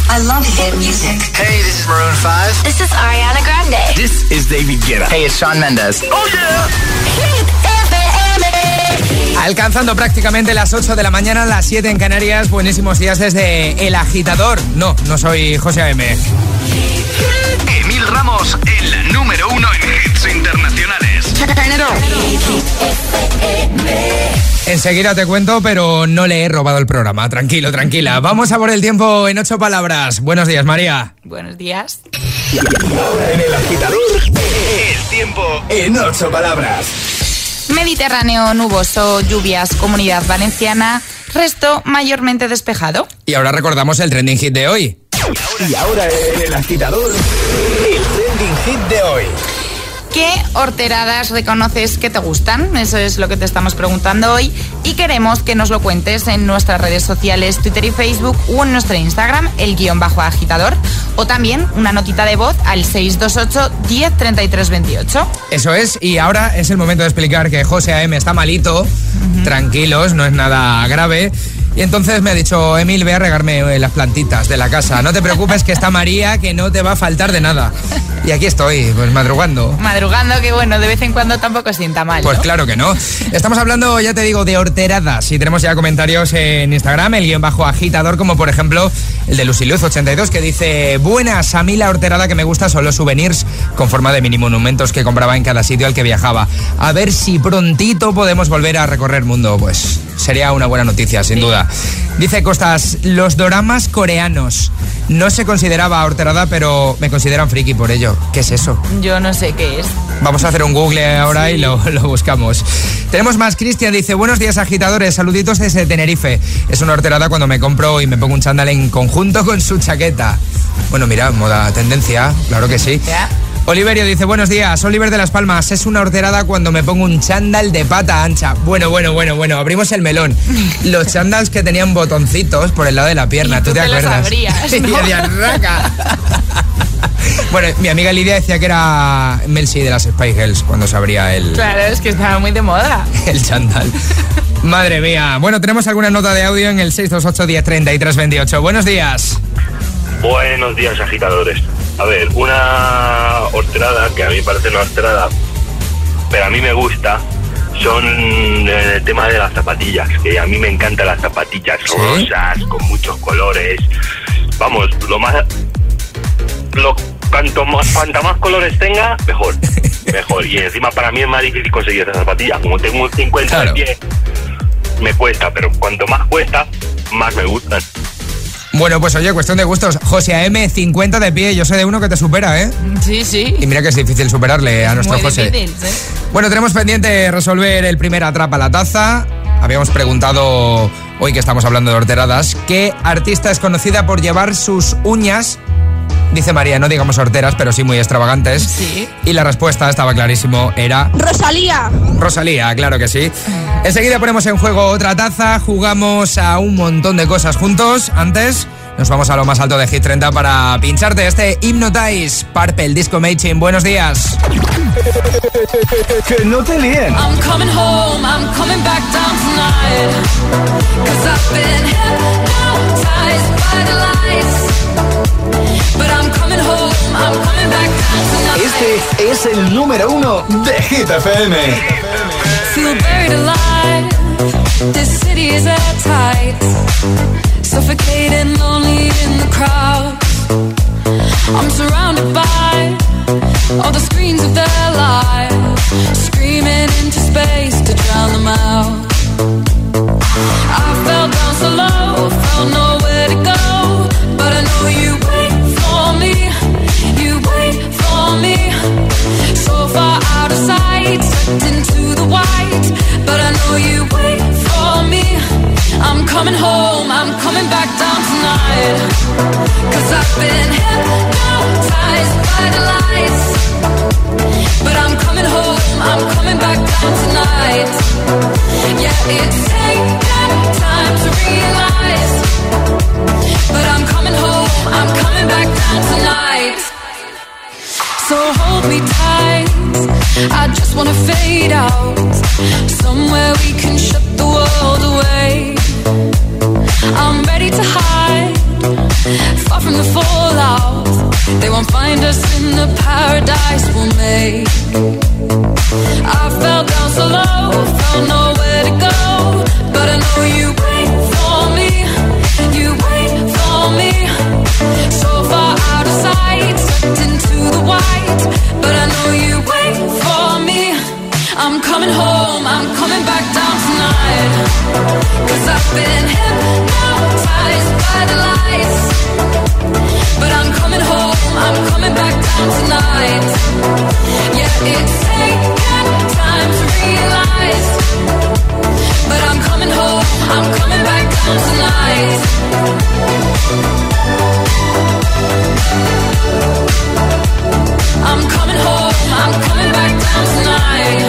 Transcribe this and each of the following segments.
I love hit music. Hey, this is Maroon 5. This is Ariana Grande. This is David Guetta. Hey, it's Shawn Mendes. Oh, yeah. Hit FM. Alcanzando prácticamente las 8 de la mañana, las 7 en Canarias. Buenísimos días desde El Agitador. No soy José A.M. Emil Ramos, el número 1 en hits internacionales. Enseguida te cuento, pero no le he robado el programa. Tranquilo, tranquila. Vamos a por el tiempo en 8 palabras. Buenos días, María. Buenos días. Ahora en El Agitador, el tiempo en 8 palabras. Mediterráneo nuboso, lluvias, Comunidad Valenciana, resto mayormente despejado. Y ahora recordamos el trending hit de hoy. Y ahora en El Agitador, el trending hit de hoy. ¿Qué horteradas reconoces que te gustan? Eso es lo que te estamos preguntando hoy y queremos que nos lo cuentes en nuestras redes sociales, Twitter y Facebook o en nuestro Instagram, el_agitador, o también una notita de voz al 628 10 33 28. Eso es, y ahora es el momento de explicar que José A.M. está malito, tranquilos, no es nada grave. Y entonces me ha dicho, Emil, ve a regarme las plantitas de la casa. No te preocupes que está María, que no te va a faltar de nada. Y aquí estoy, pues madrugando. Madrugando, que bueno, de vez en cuando tampoco sienta mal, ¿no? Pues claro que no. Estamos hablando, ya te digo, de horteradas. Y tenemos ya comentarios en Instagram, el_agitador, como por ejemplo el de Luciluz82, que dice: buenas, a mí la horterada que me gusta son los souvenirs con forma de mini monumentos que compraba en cada sitio al que viajaba. A ver si prontito podemos volver a recorrer el mundo. Pues sería una buena noticia, sin duda. Dice Costas, los doramas coreanos. No se consideraba horterada, pero me consideran friki por ello. ¿Qué es eso? Yo no sé qué es. Vamos a hacer un Google ahora, sí. Y lo buscamos. Tenemos más. Cristian dice: buenos días, agitadores, saluditos desde Tenerife. Es una horterada cuando me compro y me pongo un chándal en conjunto con su chaqueta. Bueno, mira, moda tendencia, claro que sí. ¿Ya? Oliverio dice: buenos días, Oliver de Las Palmas. Es una horterada cuando me pongo un chándal de pata ancha. Bueno, abrimos el melón. Los chándals que tenían botoncitos por el lado de la pierna, ¿tú te acuerdas? Sabrías, ¿no? Y de arraca. Bueno, mi amiga Lidia decía que era Mel C de las Spice Girls cuando se abría el... Claro, es que estaba muy de moda. El chándal. Madre mía. Bueno, tenemos alguna nota de audio en el 628 10 33 28. Buenos días. Buenos días, agitadores. A ver, una horterada que a mí me parece una horterada, pero a mí me gusta, son el tema de las zapatillas, que a mí me encantan las zapatillas rosas, con muchos colores. Vamos, cuanta más colores tenga, mejor. Y encima para mí es más difícil conseguir esas zapatillas. Como tengo un 50 claro. de pie, me cuesta, pero cuanto más cuesta, más me gustan. Bueno, pues oye, cuestión de gustos. José A.M., 50 de pie. Yo sé de uno que te supera, ¿eh? Sí. Y mira que es difícil superarle a nuestro José. Difícil, ¿sí? Bueno, tenemos pendiente resolver el primer Atrapa la Taza. Habíamos preguntado, hoy que estamos hablando de horteradas, ¿qué artista es conocida por llevar sus uñas, dice María, no digamos horteras, pero sí muy extravagantes? Sí. Y la respuesta, estaba clarísimo, era... Rosalía, claro que sí. Enseguida ponemos en juego otra taza, jugamos a un montón de cosas juntos. Antes, nos vamos a lo más alto de Hit 30 para pincharte este Hypnotize, Purple Disco Machine. Buenos días. Que no te líen. I'm coming home, I'm coming back down tonight. 'Cause I've been hypnotized by the lights. But I'm coming home, I'm coming back down tonight. Este es el número 1 de Hit FM. Feel buried alive. This city is airtight. Suffocating, lonely in the crowd. I'm surrounded by all the screens of their lives, screaming into space to drown them out. I fell down so low, found nowhere to go, but I know you wait for me, you wait for me. So far out of sight, sucked into the white, but I know you wait for me. I'm coming home, I'm coming back down tonight. 'Cause I've been hypnotized by the lights. But I'm coming home, I'm coming back down tonight. Yeah, it's taken time to realize. But I'm coming home, I'm coming back down tonight. So hold me tight, I just wanna fade out. Somewhere we can shut the world away. I'm ready to hide, far from the day. I fell down so low, found nowhere to go, but I know you wait for me, you wait for me. So far out of sight, sucked into the white, but I know you wait for me. I'm coming home, I'm coming back down tonight, 'cause I've been hypnotized by the lights. But I'm coming home, I'm coming back down tonight. Yeah, it's taken time to realize, but I'm coming home, I'm coming back down tonight. I'm coming home, I'm coming back down tonight.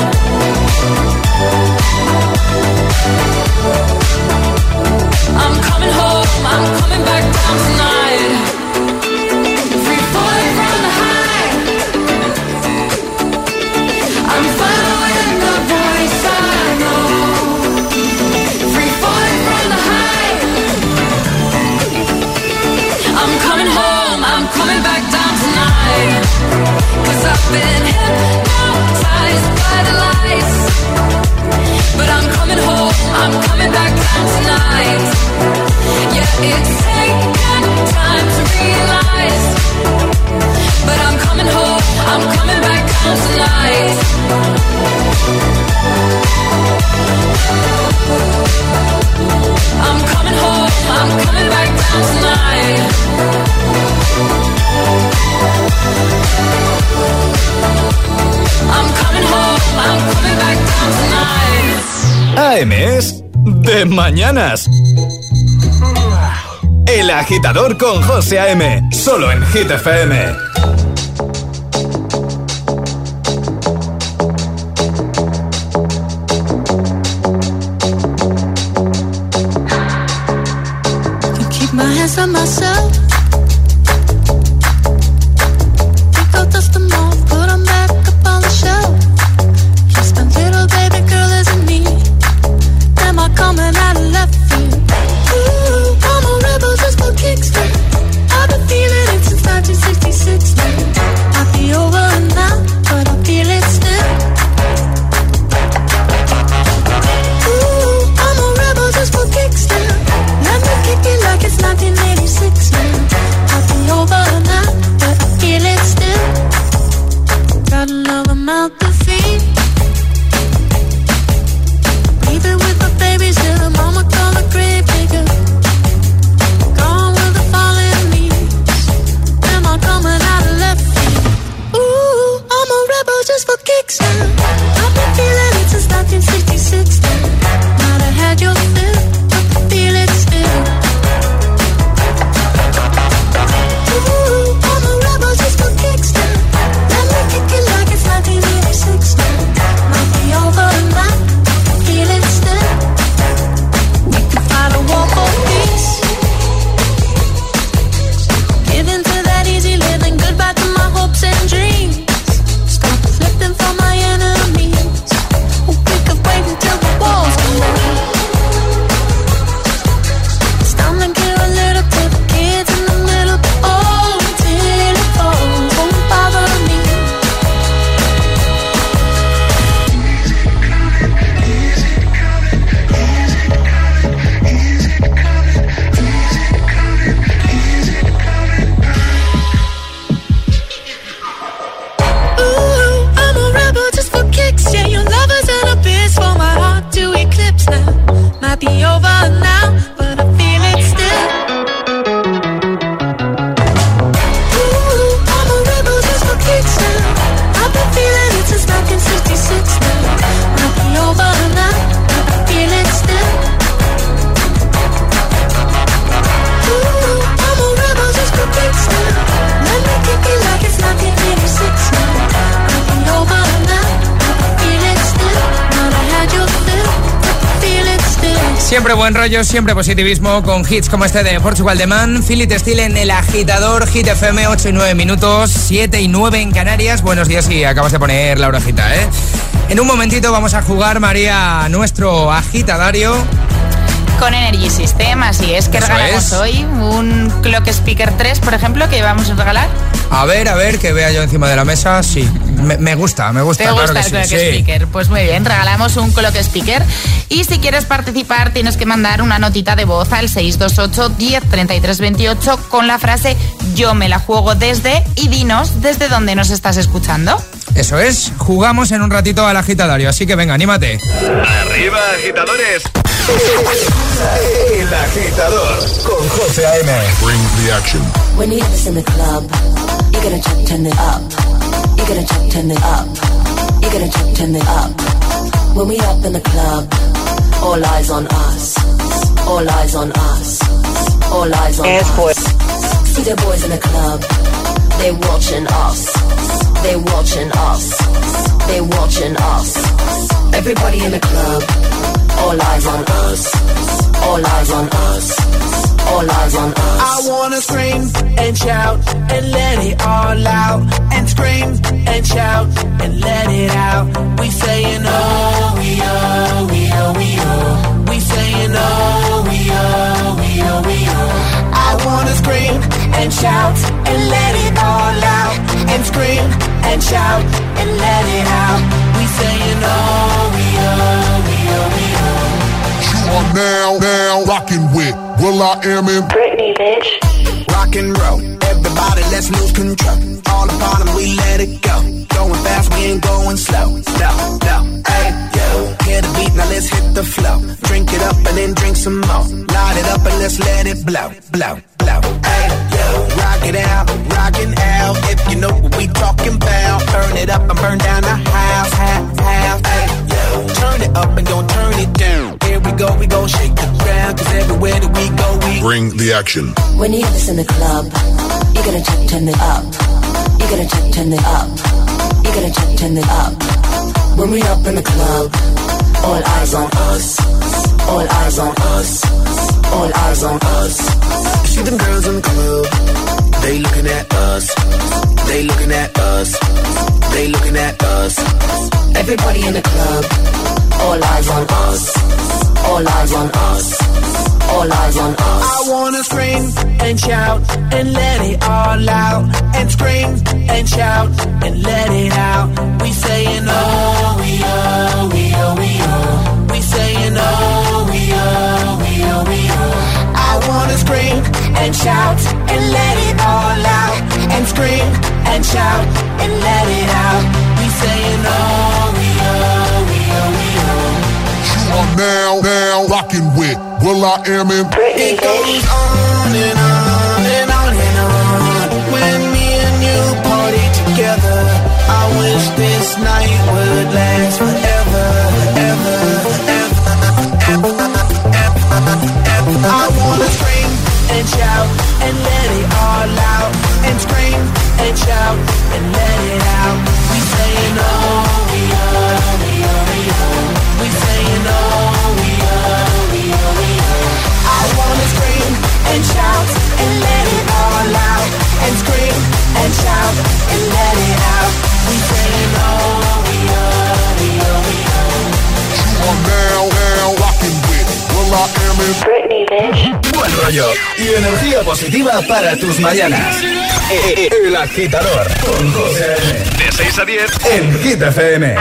I'm coming home, I'm coming back down tonight. Free falling from the high, I'm following the voice I know. Free falling from the high, I'm coming home, I'm coming back down tonight. 'Cause I've been hypnotized by the lights, but I'm coming home, I'm coming back down tonight. Yeah, it's taken time to realize, but I'm coming home, I'm coming back down tonight. I'm coming home, I'm coming back down tonight. I'm coming home, I'm coming back down tonight. AM es de mañanas. El Agitador con José A.M. Solo en Hit FM. Keep my hands on myself. Pick up, dust them off, put them back up on the shelf. Just a little baby girl isn't me. Am I coming out of left field? Ooh, I'm a rebel just for kicks. I've been feeling it since 1966 now. I'll be over now, but I feel it still. Ooh, I'm a rebel just for kicks now. Let me kick it like it's 1986 now. I'll be over now, but I feel it still. Got another mouth to feed. Even with my babies here, mama call a grave digger. Gone with the falling leaves. Am I coming out of left field? Ooh, I'm a rebel just for kicks now. I've been feeling it since 1966 now. Might have had your fill, but I feel it still. Ooh, I'm a rebel just for kicks now. Let me kick it like it's 1986 now. Might be over now, I feel it still. We can fight a war for peace. Giving to that easy living, goodbye to my hopes and dreams. Stop flipping for my enemies. We could wait until the walls come down. It's time to give a little to the kids in the middle. Oh, until it falls, won't bother me. Ooh, I'm a rebel just for kicks. Yeah, your love is an abyss for my heart to eclipse now. Might be over now, but I feel it still. Ooh, I'm a rebel just for kicks now. I've been feeling it since 1966 now. Might be over now, but I feel it still. Ooh, I'm a rebel just for kicks now. Let me kick it like it's 1986 now. Might be over now, but I feel it still. Might have had your fill, but I feel it still. Siempre buen rollo, siempre positivismo con hits como este de Portugal The Man. Phil It Still en El Agitador, Hit FM, 8 y 9 minutos, 7 y 9 en Canarias. Buenos días si acabas de poner la orejita, ¿eh? En un momentito vamos a jugar, María, nuestro agitadario. Con Energy System, así es. Que regalamos hoy un Clock Speaker 3, por ejemplo, que vamos a regalar. A ver, que vea yo encima de la mesa. Sí, me gusta. ¿Te gusta claro el Clock Speaker? Pues muy bien, regalamos un Clock Speaker. Y si quieres participar, tienes que mandar una notita de voz al 628 10 33 28 con la frase "Yo me la juego desde", y dinos desde dónde nos estás escuchando. Eso es, jugamos en un ratito al agitadario, así que venga, anímate. ¡Arriba, agitadores! El agitador con José A.M. Bring the action. When you have this in the club, you're gonna check, turn it up. You're gonna check, turn it up. You're gonna check, turn it up. When we up in the club, all eyes on us. All eyes on us. All eyes on us. See the boys in the club, they watching us. They watching us. They watching us. Everybody in the club, all eyes on us. All eyes on us. All eyes on us. I wanna scream and shout and let it all out. And scream and shout and let it out. We saying oh, we oh, we oh, we oh. We saying oh, we oh, we oh, we oh. I wanna scream and shout and let it all out. And scream and shout and let it out. We saying oh, we oh, we oh, we oh. You are now rocking with will.i.am in Britney, bitch. Rock and roll, everybody let's lose control. All upon them, we let it go. Going fast, we ain't going slow. No, hey, yo. Hear the beat, now let's hit the flow. Drink it up and then drink some more. Light it up and let's let it blow. Hey, yo. Rock it out, rockin' out. If you know what we talking about. Burn it up and burn down the house. Hey, yo. Turn it up and don't turn it down. Here we go shake the ground. Cause everywhere that we go, we bring the action. When you have this in the club, you're gonna check, turn it up. You're gonna check, turn it up. You're gonna check, turn it up. When we up in the club, all eyes on us. All eyes on us. All eyes on us. See them girls in the club, they looking at us. They looking at us. They looking at us. Everybody in the club, all eyes on us. All eyes on us. All eyes on us. I wanna scream and shout and let it all out. And scream and shout and let it out. We saying oh, we oh, we oh, we oh. We saying oh, we oh, we oh, we oh. I wanna scream and shout and let it all out. And scream and shout and let it out. We saying oh, we oh, we oh, we oh. You are now rocking with will.i.am in Britney. It goes on and on and on and on. When me and you party together, I wish this night would last forever, ever, ever, ever, ever. I wanna scream and shout and let it all out. And scream and shout and let it out. We saying oh, we oh, we oh, we oh. We saying oh, we oh, we oh, we oh. I wanna scream and shout and let it all out. And scream and shout and let it out. We saying oh, we oh, we oh, we oh. You are now rocking with will.i.am in Britney, bitch. Buen rollo y energía positiva para tus mañanas. El agitador con José A.M. De 6 a 10 en Hit FM.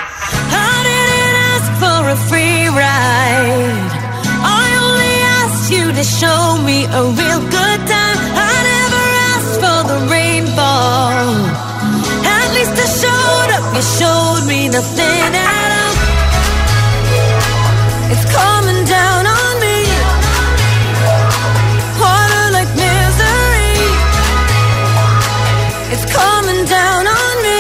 For a free ride, I only asked you to show me a real good time. I never asked for the rainfall. At least I showed up. You showed me nothing at all. It's coming down on me. Water like misery. It's coming down on me.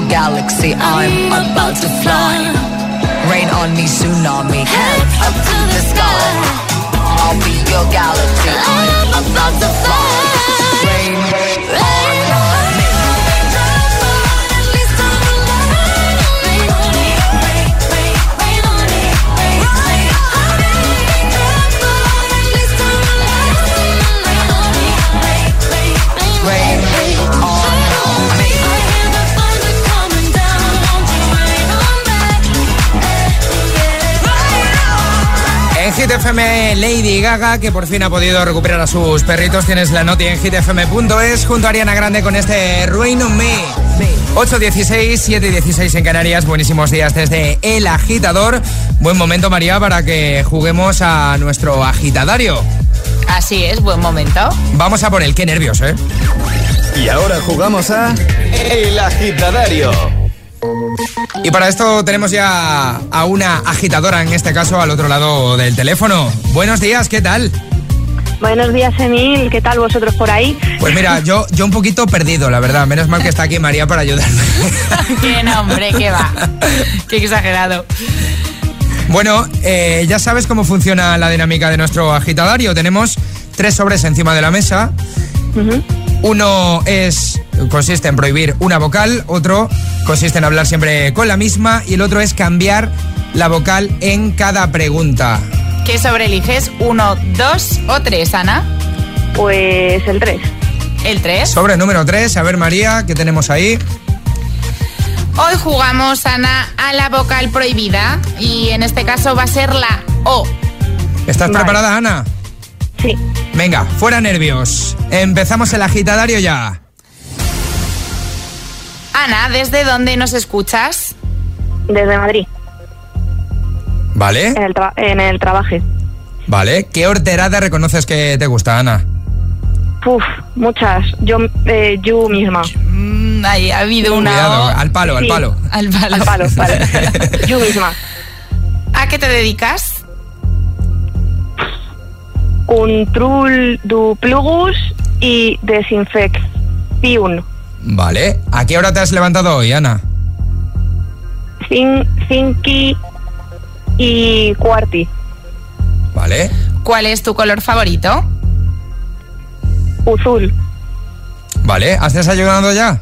galaxy. I'm about to fly. Rain on me, tsunami. Head up to the sky. I'll be your galaxy. I'm about to fly. Rain on me. En Hit FM, Lady Gaga, que por fin ha podido recuperar a sus perritos. Tienes la noti en hitfm.es junto a Ariana Grande con este Rain on Me. 8:16, 7:16 en Canarias. Buenísimos días desde El Agitador. Buen momento, María, para que juguemos a nuestro agitadario. Así es, buen momento. Vamos a por él, qué nervios, ¿eh? Y ahora jugamos a El Agitadario. Y para esto tenemos ya a una agitadora, en este caso al otro lado del teléfono. Buenos días, ¿qué tal? Buenos días, Emil. ¿Qué tal vosotros por ahí? Pues mira, yo un poquito perdido, la verdad. Menos mal que está aquí María para ayudarme. Qué nombre, qué va. Qué exagerado. Bueno, ya sabes cómo funciona la dinámica de nuestro agitadario. Tenemos 3 sobres encima de la mesa. Uh-huh. Uno consiste en prohibir una vocal, otro consiste en hablar siempre con la misma y el otro es cambiar la vocal en cada pregunta. ¿Qué sobre eliges? ¿1, 2 o 3, Ana? Pues el 3. ¿El 3? Sobre número 3, a ver María, ¿qué tenemos ahí? Hoy jugamos, Ana, a la vocal prohibida y en este caso va a ser la O. ¿Estás preparada, Ana? Sí. Venga, fuera nervios. Empezamos el agitadario ya. Ana, ¿desde dónde nos escuchas? Desde Madrid. ¿Vale? En el trabajo. Vale. ¿Qué horterada reconoces que te gusta, Ana? Uf, muchas. Yo misma. Ahí ha habido una Cuidado, O. al palo, Sí. al palo. Al palo. Al palo, vale. Yo misma. ¿A qué te dedicas? Control du plugus y desinfección. Vale. ¿A qué hora te has levantado hoy, Ana? 5 y cuarti. Vale. ¿Cuál es tu color favorito? Azul. Vale. ¿Has desayunado ya?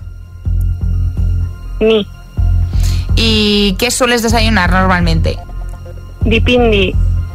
Ni. ¿Y qué sueles desayunar normalmente? Dipindi.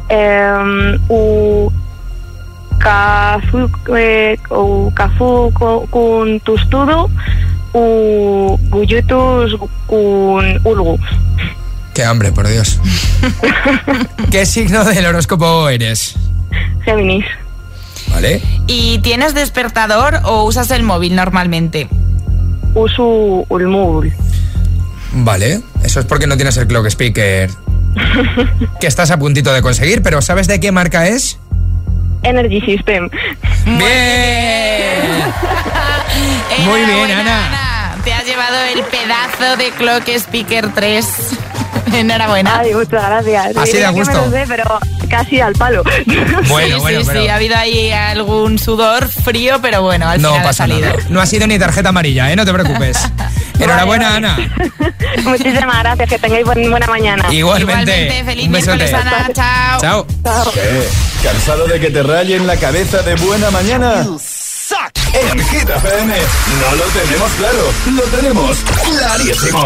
Cafú con tustudo u gullitos con ulgu. Qué hambre, por Dios. ¿Qué signo del horóscopo eres? Géminis. Vale. ¿Y tienes despertador o usas el móvil normalmente? Uso el móvil. Vale. Eso es porque no tienes el clock speaker que estás a puntito de conseguir, pero ¿sabes de qué marca es? Energy System. ¡Bien! Muy bien, Ana. Te has llevado el pedazo de Clock Speaker 3. Enhorabuena. Ay, muchas gracias. Así de a gusto. Que me lo sé, pero casi al palo. Bueno, sí, ha habido ahí algún sudor frío, pero bueno, al final pasa ha salido. nada. No ha sido ni tarjeta amarilla, ¿eh? No te preocupes. Enhorabuena, vale. Ana. Muchísimas gracias, que tengáis buena mañana. Igualmente. Feliz miércoles, Ana. Chao. Chao. ¿Qué? ¿Cansado de que te rayen la cabeza de buena mañana? En Hit FM no lo tenemos claro, lo tenemos clarísimo.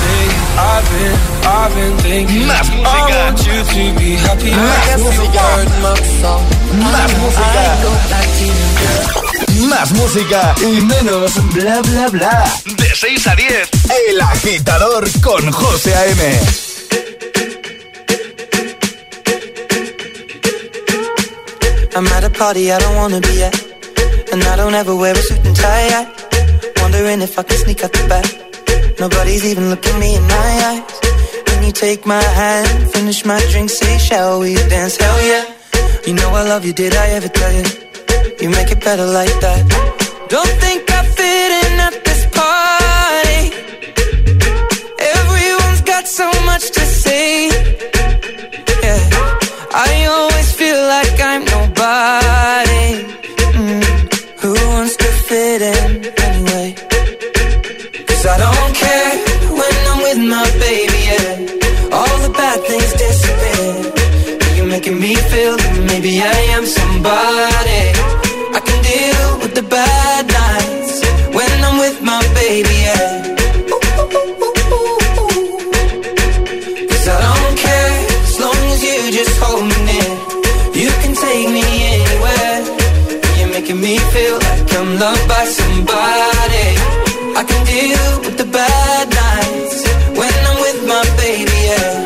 Más música. Más música. Más música y menos bla bla bla. De 6 a 10. El Agitador con José A.M. I'm at a party I don't wanna be at, and I don't ever wear a suit and tie. Wondering if I can sneak out the back. Nobody's even looking me in my eyes. When you take my hand, finish my drink, say shall we dance? Hell yeah. You know I love you, did I ever tell you? You make it better like that. Don't think I fit in at this party. Everyone's got so much to say. Yeah, I always feel like I'm nobody. Who wants to fit in anyway? 'Cause I don't care maybe I am somebody. I can deal with the bad nights when I'm with my baby, yeah. Cause I don't care as long as you just hold me near. You can take me anywhere. You're making me feel like I'm loved by somebody. I can deal with the bad nights when I'm with my baby, yeah.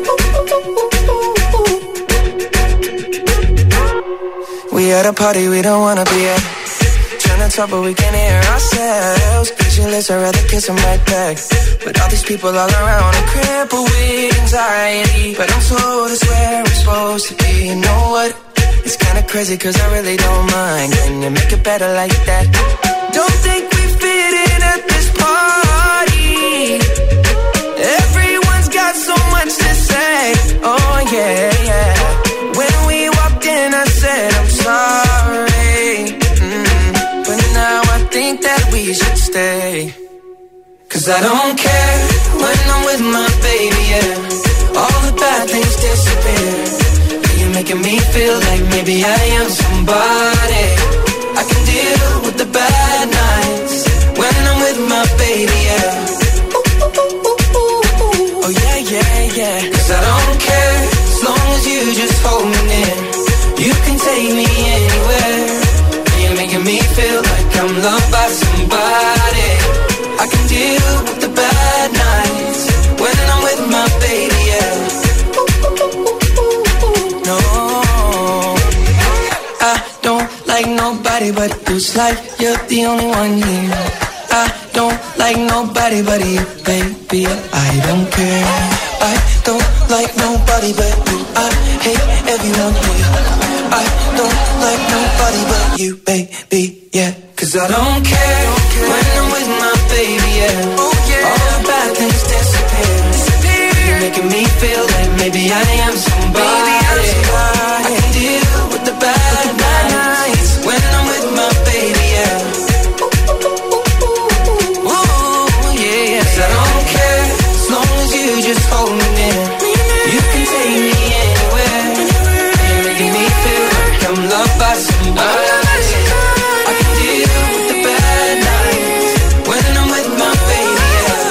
We at a party we don't wanna be at. Trying to talk but we can't hear ourselves. Pictureless, I'd rather kiss them right back. But all these people all around are crippled with anxiety. But I'm told it's where we're supposed to be. You know what? It's kinda crazy cause I really don't mind. Can you make it better like that? Don't think we fit in at this party. Everyone's got so much to say. Oh yeah, yeah. When we walked in I said I'm sorry. But now I think that we should stay. Cause I don't care when I'm with my baby, yeah. All the bad things disappear. You're making me feel like maybe I am somebody. I can deal with the bad nights when I'm with my baby, yeah. Oh yeah, yeah, yeah. Cause I don't care as long as you just hold me near. You can take me anywhere. You're making me feel like I'm loved by somebody. I can deal with the bad nights when I'm with my baby, yeah. No, I don't like nobody but you. It's like you're the only one here. I don't like nobody but you, baby. I don't care. I don't like nobody but you. I hate everyone here. I don't like nobody but you, baby, yeah. Cause I don't care when I'm with my baby, yeah. All the bad things disappear. You're making me feel like maybe I am somebody. I can deal with the bad nights when I'm with my baby, yeah. Ooh, yeah, yeah. Cause I don't care as long as you just hold me near. You can take me anywhere. You're making me feel like I'm loved by somebody. I can deal with the bad nights when I'm with my baby, yeah.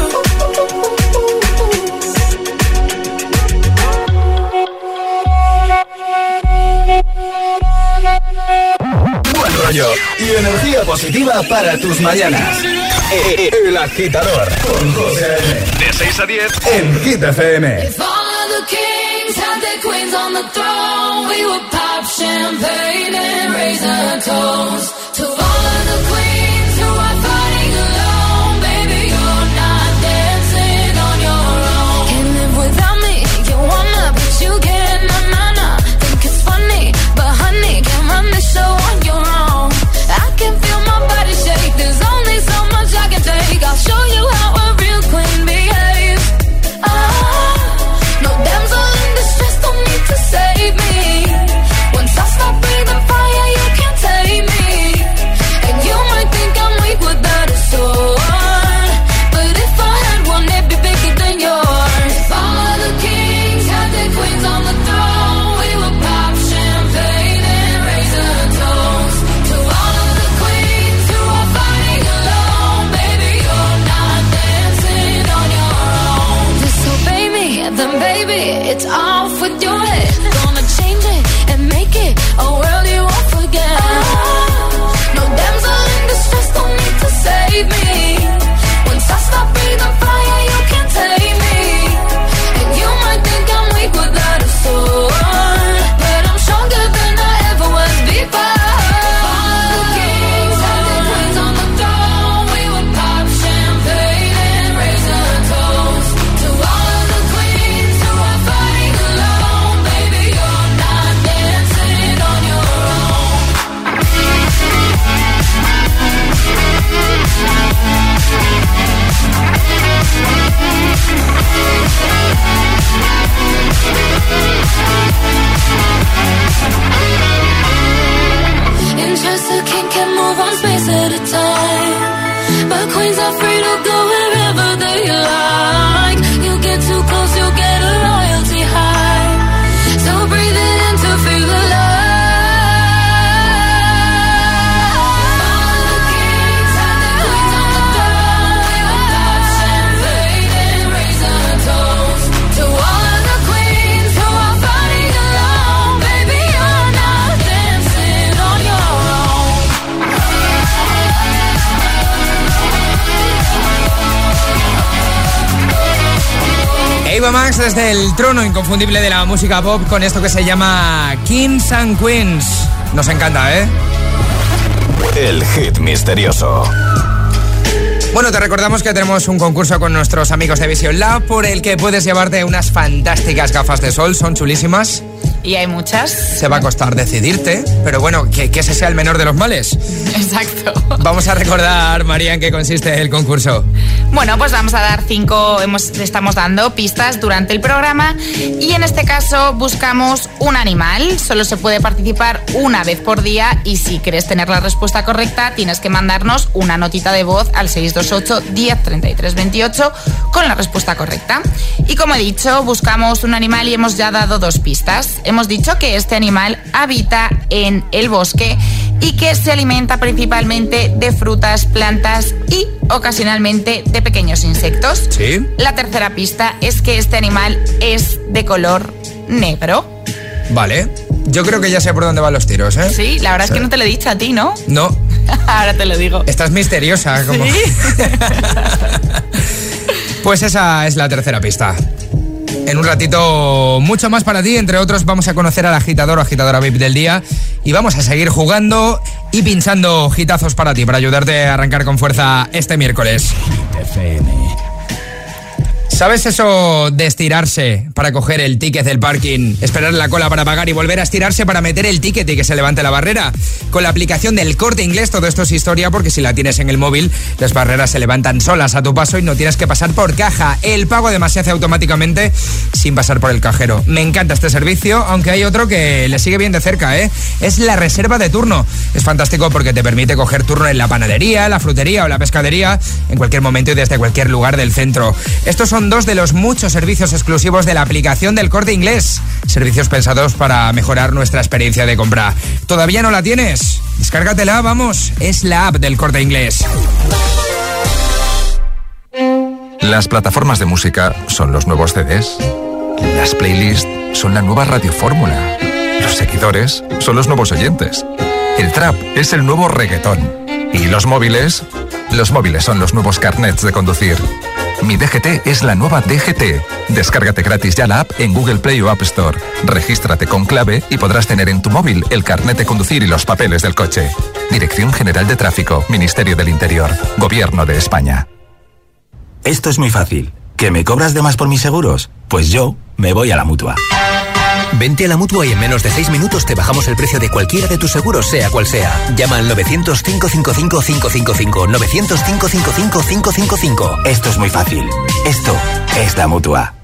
Buen rollo y energía positiva para tus mañanas. El Agitador con José A.M. De 6 a 10 en Hit FM. If all of the kings had their queens on the throne, we would pop champagne and raise a toast to all of the queens who are fighting alone. Baby, you're not dancing on your own. Can't live without me, you wanna, but you can't, nah. Think it's funny, but honey, can't run the show on your own. I can feel my body shake, there's only so much I can take. I'll show you how a real queen behaves. No damsel in distress, don't need to save me. Once I stop breathing fire, you can't take me. And you might think I'm weak without a sword, but if I had one, it'd be bigger than yours. If all of the kings had their queens on the throne, we would pop champagne and raise a toast to all of the queens who are fighting alone. Baby, you're not dancing on your own. Disobey me, then baby, it's off with your head. Gonna change it and make it a world you won't forget. No damsel in distress, don't need to save me. Once I stop breathing fire, you can't take me. And you might think I'm weak without a sword, but I'm stronger than I ever was before. All the kings had their queens on the throne, we would pop champagne and raise a toast to all of the queens who are fighting alone. Baby, you're not dancing on your own. Interest a king can move one space at a time, but queens are free to go wherever they like. You get too close, you'll get a royalty high. So breathe it in to feel the love. Ava Max desde el trono inconfundible de la música pop con esto que se llama Kings and Queens. Nos encanta, ¿eh? El hit misterioso. Bueno, te recordamos que tenemos un concurso con nuestros amigos de Vision Lab por el que puedes llevarte unas fantásticas gafas de sol, son chulísimas. Y hay muchas. Se va a costar decidirte, pero bueno, que ese sea el menor de los males. Exacto. Vamos a recordar, María, en qué consiste el concurso. Bueno, pues vamos a dar 5, estamos dando pistas durante el programa y en este caso buscamos un animal. Solo se puede participar una vez por día y si quieres tener la respuesta correcta tienes que mandarnos una notita de voz al 628 10 33 28 con la respuesta correcta. Y como he dicho, buscamos un animal y hemos ya dado 2 pistas. Hemos dicho que este animal habita en el bosque y que se alimenta principalmente de frutas, plantas y ocasionalmente de pequeños insectos. ¿Sí? La tercera pista es que este animal es de color negro. Vale, yo creo que ya sé por dónde van los tiros, ¿eh? Sí, la verdad es que no te lo he dicho a ti, ¿no? No. Ahora te lo digo. Estás misteriosa, como. ¿Sí? Pues esa es la tercera pista. En un ratito mucho más para ti, entre otros vamos a conocer al agitador o agitadora VIP del día y vamos a seguir jugando y pinchando hitazos para ti, para ayudarte a arrancar con fuerza este miércoles. ¿Sabes eso de estirarse para coger el ticket del parking, esperar la cola para pagar y volver a estirarse para meter el ticket y que se levante la barrera? Con la aplicación del Corte Inglés todo esto es historia porque si la tienes en el móvil, las barreras se levantan solas a tu paso y no tienes que pasar por caja. El pago además se hace automáticamente sin pasar por el cajero. Me encanta este servicio, aunque hay otro que le sigue bien de cerca, ¿eh? Es la reserva de turno. Es fantástico porque te permite coger turno en la panadería, la frutería o la pescadería en cualquier momento y desde cualquier lugar del centro. Estos son 2 de los muchos servicios exclusivos de la aplicación del Corte Inglés. Servicios pensados para mejorar nuestra experiencia de compra. ¿Todavía no la tienes? Descárgatela, vamos. Es la app del Corte Inglés. Las plataformas de música son los nuevos CDs. Las playlists son la nueva radiofórmula. Los seguidores son los nuevos oyentes. El trap es el nuevo reggaetón. ¿Y los móviles? Los móviles son los nuevos carnets de conducir. Mi DGT es la nueva DGT. Descárgate gratis ya la app en Google Play o App Store. Regístrate con clave y podrás tener en tu móvil el carnet de conducir y los papeles del coche. Dirección General de Tráfico, Ministerio del Interior, Gobierno de España. Esto es muy fácil. ¿Que me cobras de más por mis seguros? Pues yo me voy a la Mutua. Vente a la Mutua y en menos de 6 minutos te bajamos el precio de cualquiera de tus seguros, sea cual sea. Llama al 900-555-555. 900-555-555. Esto es muy fácil. Esto es la Mutua.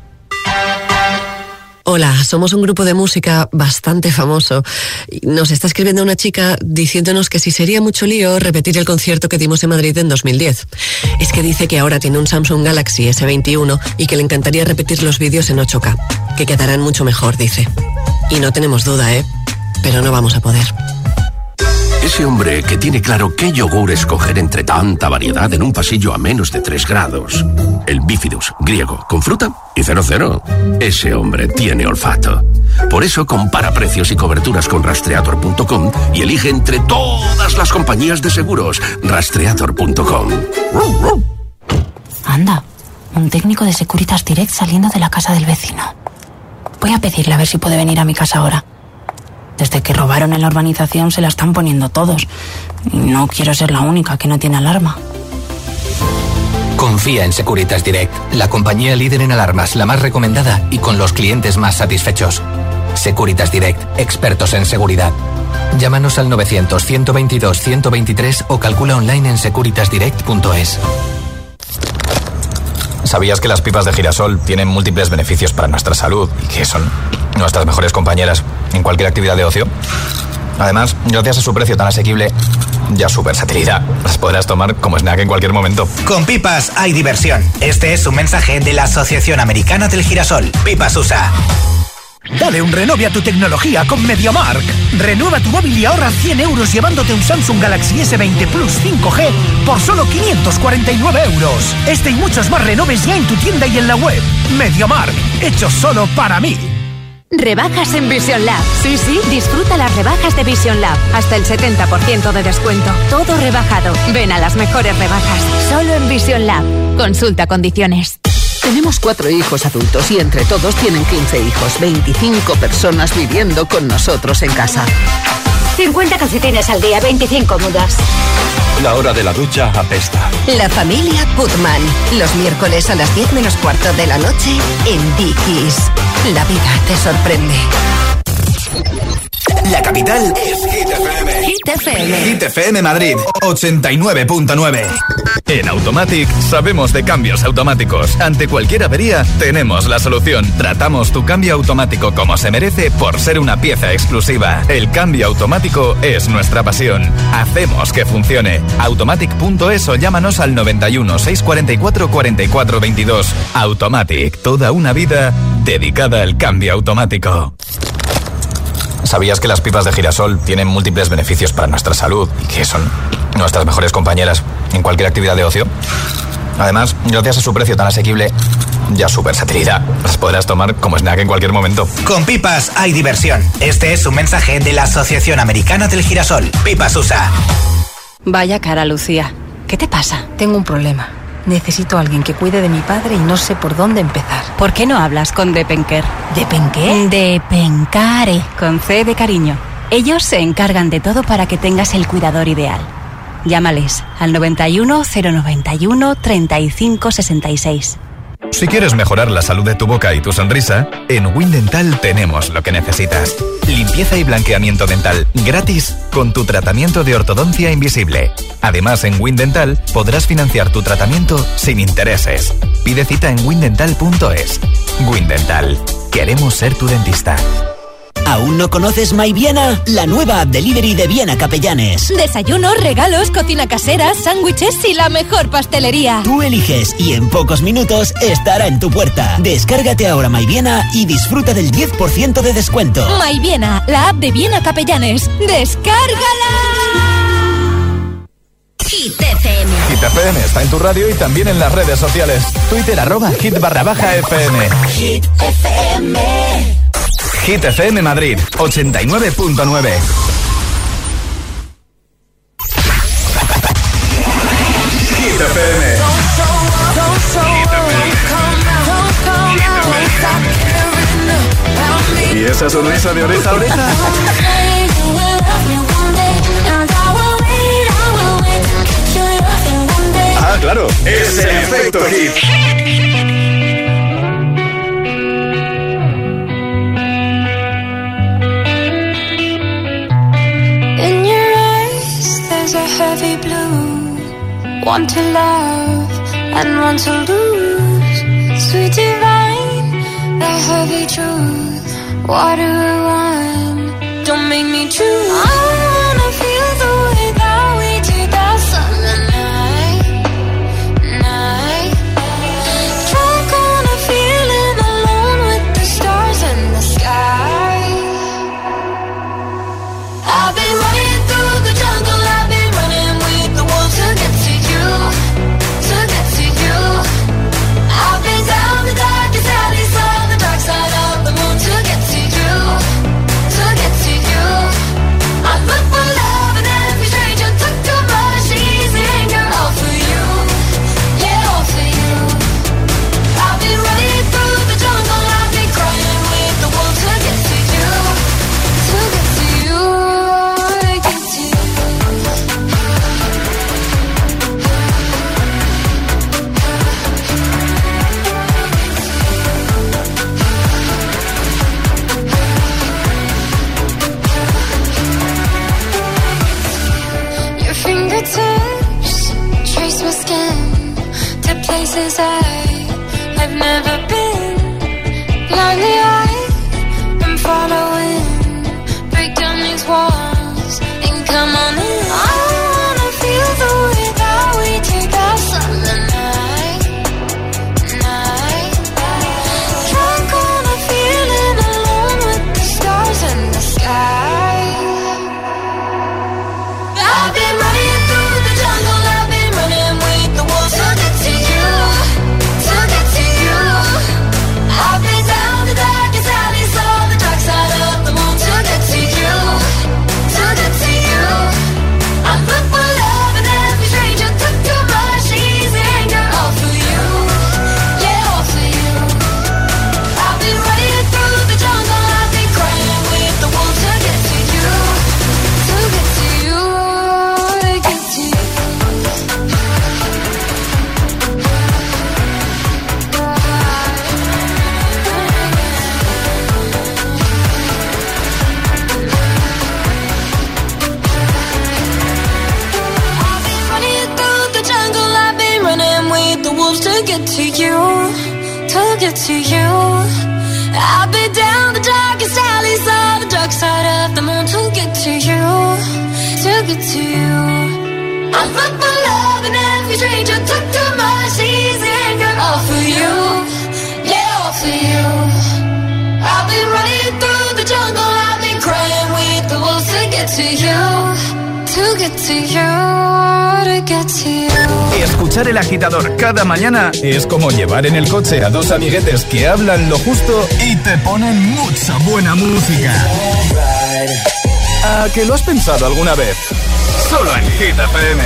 Hola, somos un grupo de música bastante famoso. Nos está escribiendo una chica diciéndonos que si sería mucho lío repetir el concierto que dimos en Madrid en 2010. Es que dice que ahora tiene un Samsung Galaxy S21 y que le encantaría repetir los vídeos en 8K, que quedarán mucho mejor, dice. Y no tenemos duda, pero no vamos a poder. Ese hombre que tiene claro qué yogur escoger entre tanta variedad en un pasillo a menos de 3 grados. El Bifidus, griego, con fruta y 00. Ese hombre tiene olfato. Por eso compara precios y coberturas con Rastreator.com y elige entre todas las compañías de seguros. Rastreator.com. Anda, un técnico de Securitas Direct saliendo de la casa del vecino. Voy a pedirle a ver si puede venir a mi casa ahora. Desde que robaron en la urbanización se la están poniendo todos. Y no quiero ser la única que no tiene alarma. Confía en Securitas Direct, la compañía líder en alarmas, la más recomendada y con los clientes más satisfechos. Securitas Direct, expertos en seguridad. Llámanos al 900-122-123 o calcula online en securitasdirect.es. ¿Sabías que las pipas de girasol tienen múltiples beneficios para nuestra salud y que son nuestras mejores compañeras en cualquier actividad de ocio? Además, gracias a su precio tan asequible y a su versatilidad, las podrás tomar como snack en cualquier momento. Con pipas hay diversión. Este es un mensaje de la Asociación Americana del Girasol. Pipas USA. Dale un renove a tu tecnología con MediaMarkt. Renueva tu móvil y ahorra 100 euros llevándote un Samsung Galaxy S20 Plus 5G por solo 549 euros. Este y muchos más renoves ya en tu tienda y en la web. MediaMarkt, hecho solo para mí. Rebajas en Vision Lab. Sí, disfruta las rebajas de Vision Lab. Hasta el 70% de descuento. Todo rebajado. Ven a las mejores rebajas. Solo en Vision Lab. Consulta condiciones. Tenemos 4 hijos adultos y entre todos tienen 15 hijos. 25 personas viviendo con nosotros en casa. 50 calcetines al día, 25 mudas. La hora de la ducha apesta. La familia Putman. Los miércoles a las 10 menos cuarto de la noche en Dickies. La vida te sorprende. La capital es Hit FM. Hit FM. Hit FM Madrid, 89.9. En Automatic sabemos de cambios automáticos. Ante cualquier avería, tenemos la solución. Tratamos tu cambio automático como se merece por ser una pieza exclusiva. El cambio automático es nuestra pasión. Hacemos que funcione. Automatic.es o llámanos al 91 644 44 22. Automatic, toda una vida dedicada al cambio automático. ¿Sabías que las pipas de girasol tienen múltiples beneficios para nuestra salud y que son nuestras mejores compañeras en cualquier actividad de ocio? Además, gracias a su precio tan asequible y a su versatilidad, las podrás tomar como snack en cualquier momento. Con pipas hay diversión. Este es un mensaje de la Asociación Americana del Girasol. Pipas USA. Vaya cara, Lucía. ¿Qué te pasa? Tengo un problema. Necesito a alguien que cuide de mi padre y no sé por dónde empezar. ¿Por qué no hablas con Depenker? ¿Depenqué? Depencare, con C de cariño. Ellos se encargan de todo para que tengas el cuidador ideal. Llámales al 91 091 35 66. Si quieres mejorar la salud de tu boca y tu sonrisa, en Windental tenemos lo que necesitas. Limpieza y blanqueamiento dental gratis con tu tratamiento de ortodoncia invisible. Además, en Windental podrás financiar tu tratamiento sin intereses. Pide cita en windental.es. Windental. Queremos ser tu dentista. ¿Aún no conoces My Viena? La nueva app delivery de Viena Capellanes. Desayunos, regalos, cocina casera, sándwiches y la mejor pastelería. Tú eliges y en pocos minutos estará en tu puerta. Descárgate ahora My Viena y disfruta del 10% de descuento. My Viena, la app de Viena Capellanes. ¡Descárgala! Hit FM. Hit FM está en tu radio y también en las redes sociales. Twitter @hit_FM. Hit FM. Hit FM Madrid, 89.9. Hit FM. ¿Y esa sonrisa de oreja a oreja? Ah, claro, es el efecto Hit. Heavy blue, one to love and one to lose. Sweet divine, the heavy truth. Water or wine, don't make me choose. I wanna feel the way that we did that summer night. Drunk on a feeling alone with the stars in the sky. I've been running through the jungle. To get to you, I've been down the darkest alleys on the dark side of the moon to get to you. I look for love in every stranger, took too much easy anger, all for you, yeah, all for you. I've been running through the jungle, I've been crying with the wolves to get to you, to get to you, get to you. Fingertips trace my skin to places I've never been. Blindly I'm following. Break down these walls and come on in. I wanna feel the way that we did that summer night. Drunk on a feeling alone with the stars in the sky. I've been running through the jungle, I've been running with the wolves to get to you, to get to you. wolves to get to you, to get to you. I've been down the darkest alleys of the dark side of the moon to get to you, to get to you. I put my love in every stranger, took too much easy anger. All for you, yeah, all for you. I've been running through the jungle, I've been crying with the wolves to get to you, to get to you, to get to you. Escuchar El Agitador cada mañana es como llevar en el coche a dos amiguetes que hablan lo justo y te ponen mucha buena música. ¿A que lo has pensado alguna vez? Solo en Hit FM.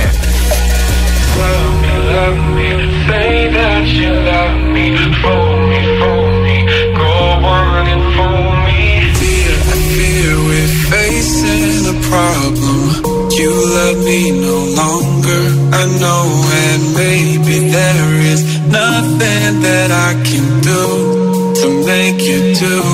Love me, say that you love me, fool me, go on and fool me. I fear we're facing a problem. You love me no longer, I know, and maybe there is nothing that I can do to make you do.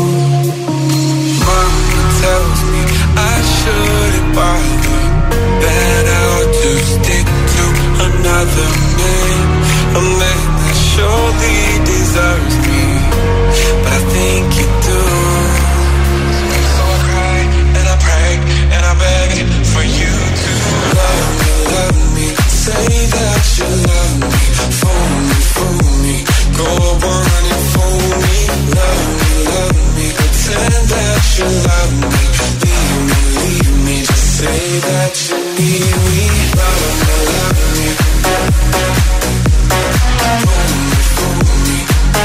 Mama tells me I shouldn't bother, that I ought to stick to another man, a man that surely deserves me, but I think you do. So I cry and I pray and I beg for you to love me, say that you love me, fool me, go on and fool me, love me, pretend that you love me, leave me, just say that you need me, love me, fool me,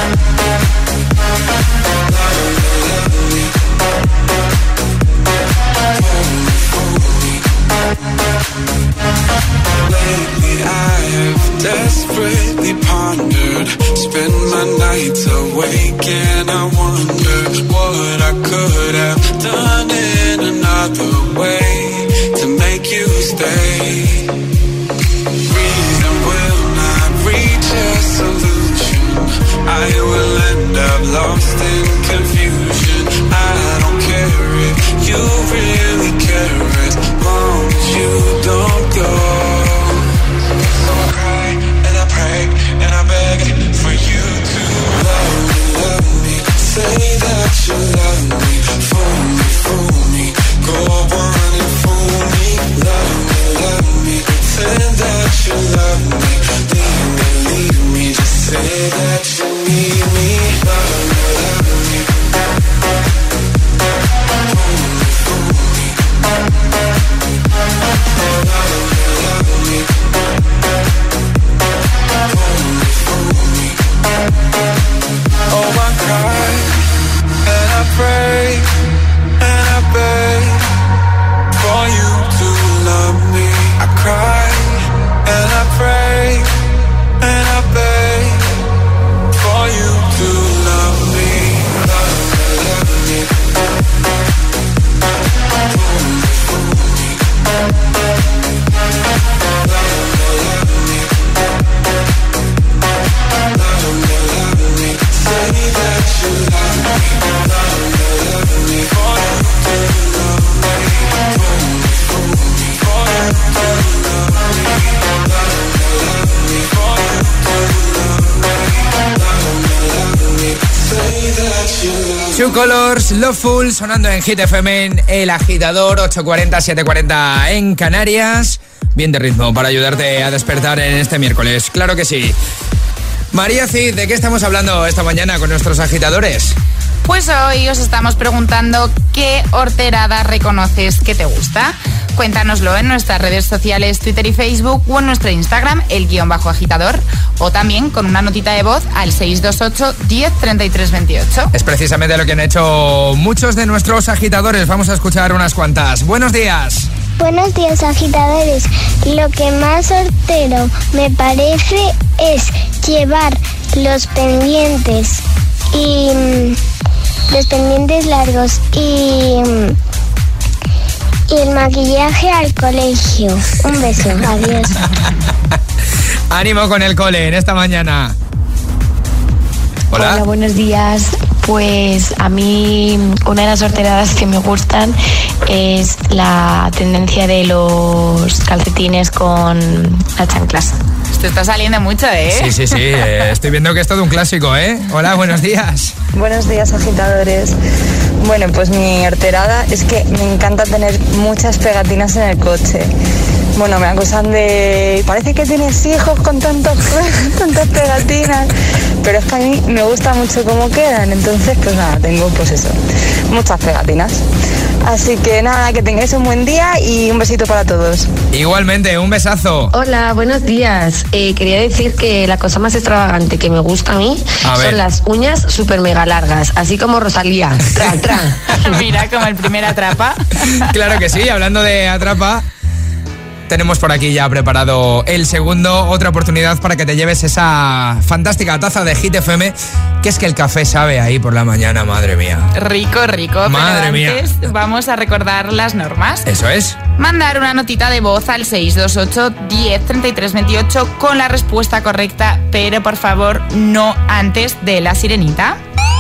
lately I have desperately pondered, spend my nights awake and I wonder what I could have done in another way to make you stay. Reason will not reach a solution, I will end up lost in confusion. I don't care if you really care, as long as you don't go. So I cry and I pray and I beg for you to love me, say that you love me, fool me, go on and fool me, love me, pretend that you love me, leave me, just say that you need me, love me, oh, I cry and I pray and I beg for you to love me. I cry and I pray and I beg for you to love me. Love me. Two Colors, Loveful, sonando en Hit FM en El Agitador, 8:40, 7:40 en Canarias. Bien de ritmo para ayudarte a despertar en este miércoles, claro que sí. María Cid, ¿de qué estamos hablando esta mañana con nuestros agitadores? Pues hoy os estamos preguntando qué horterada reconoces que te gusta. Cuéntanoslo en nuestras redes sociales, Twitter y Facebook, o en nuestro Instagram, _agitador, o también con una notita de voz al 628 10 33 28. Es precisamente lo que han hecho muchos de nuestros agitadores. Vamos a escuchar unas cuantas. Buenos días. Buenos días, agitadores. Lo que más hortero me parece es llevar los pendientes largos y el maquillaje al colegio. Un beso, adiós. Ánimo con el cole en esta mañana. Hola, buenos días. Pues a mí una de las horteradas que me gustan es la tendencia de los calcetines con las chanclas. Te está saliendo mucho, ¿eh? Sí. Estoy viendo que es todo un clásico, ¿eh? Hola, buenos días. Buenos días, agitadores. Bueno, pues mi horterada es que me encanta tener muchas pegatinas en el coche. Bueno, me acusan de... Parece que tienes hijos con tantas pegatinas. Pero es que a mí me gusta mucho cómo quedan. Entonces, pues nada, tengo pues eso, muchas pegatinas. Así que nada, que tengáis un buen día y un besito para todos. Igualmente, un besazo. Hola, buenos días. Quería decir que la cosa más extravagante que me gusta a mí son las uñas súper mega largas, así como Rosalía. Tra. Mira, como el primer atrapa. Claro que sí, hablando de atrapa, tenemos por aquí ya preparado el segundo, otra oportunidad para que te lleves esa fantástica taza de Hit FM, que es que el café sabe ahí por la mañana, madre mía. Rico. Madre mía. Vamos a recordar las normas. Eso es. Mandar una notita de voz al 628 10 33 28 con la respuesta correcta, pero por favor no antes de la sirenita.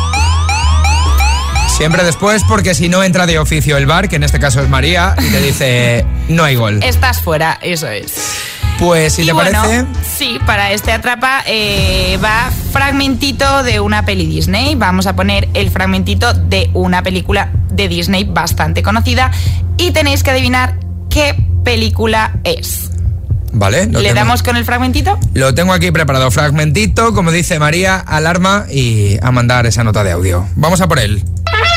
Siempre después, porque si no entra de oficio el bar, que en este caso es María, y te dice no hay gol. Estás fuera, eso es. Pues si te parece... Sí, para este atrapa va fragmentito de una peli Disney. Vamos a poner el fragmentito de una película de Disney bastante conocida y tenéis que adivinar qué película es. Vale. ¿Le damos con el fragmentito? Lo tengo aquí preparado. Fragmentito, como dice María, alarma y a mandar esa nota de audio. Vamos a por él.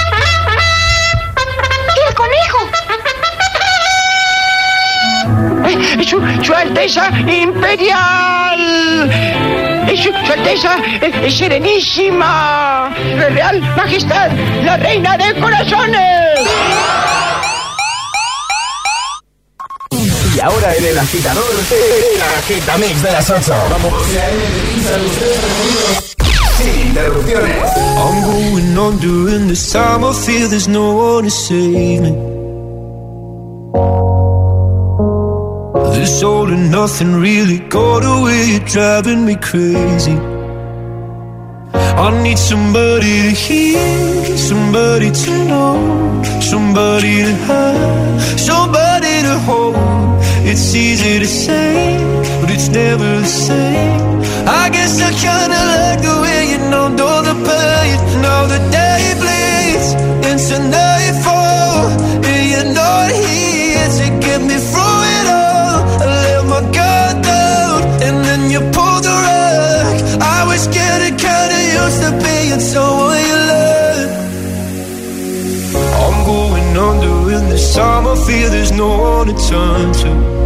Su Alteza Imperial, Su Alteza Serenísima, Real Majestad, la Reina de Corazones. Y ahora en el agitador, el agitamix de las 8. Vamos. Sin interrupciones. I'm going on during this time. I feel there's no one to save me. This all and nothing really got away, you're driving me crazy. I need somebody to hear, somebody to know, somebody to have, somebody to hold. It's easy to say, but it's never the same. I guess I kinda like the way you numbed all the pain. Now the day bleeds into nightfall, and you're not here to get me through it all. I let my guard down, and then you pulled the rug. I was getting kinda used to being someone you love. I'm going under in this time. I feel there's no one to turn to.